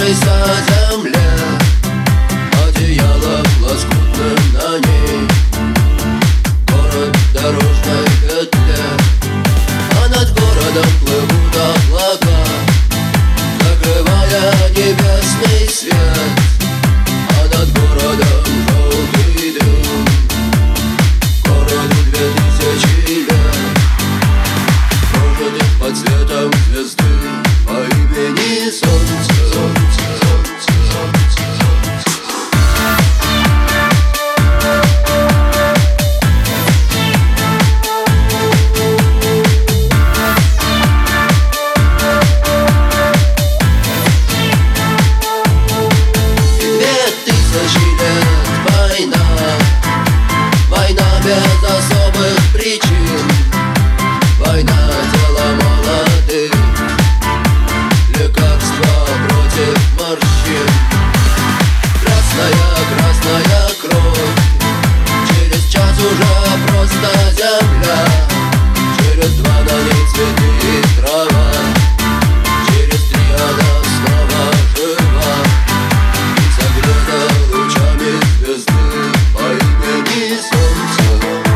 Освободившейся земле, одеяло лоскутным на ней, город в дорожной петле, а над городом плывут облака, закрывая небесный свет, а над городом желтый дым. Городу 2000 лет, прожитых под светом звезды по имени Солнце. Без особых причин, война дело молодых, лекарства против морщин. Красная кровь, через час уже просто земля, через 2 на ней цветы и трава, через 3 она снова жива и согрета лучами звезды по имени Солнце.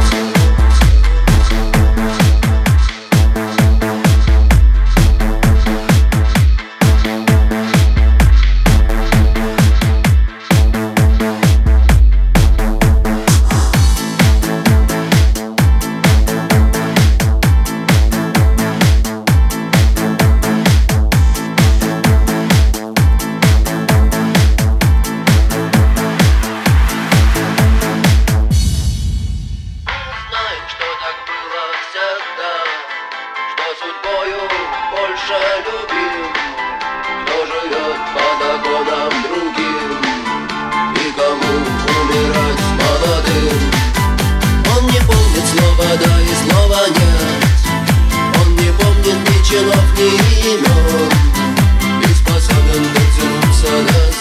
Судьбою больше любим, кто живет по законам другим и кому умирать молодым. Он не помнит слова да и слова нет, он не помнит ни чинов, ни имен, и способен дотянуться до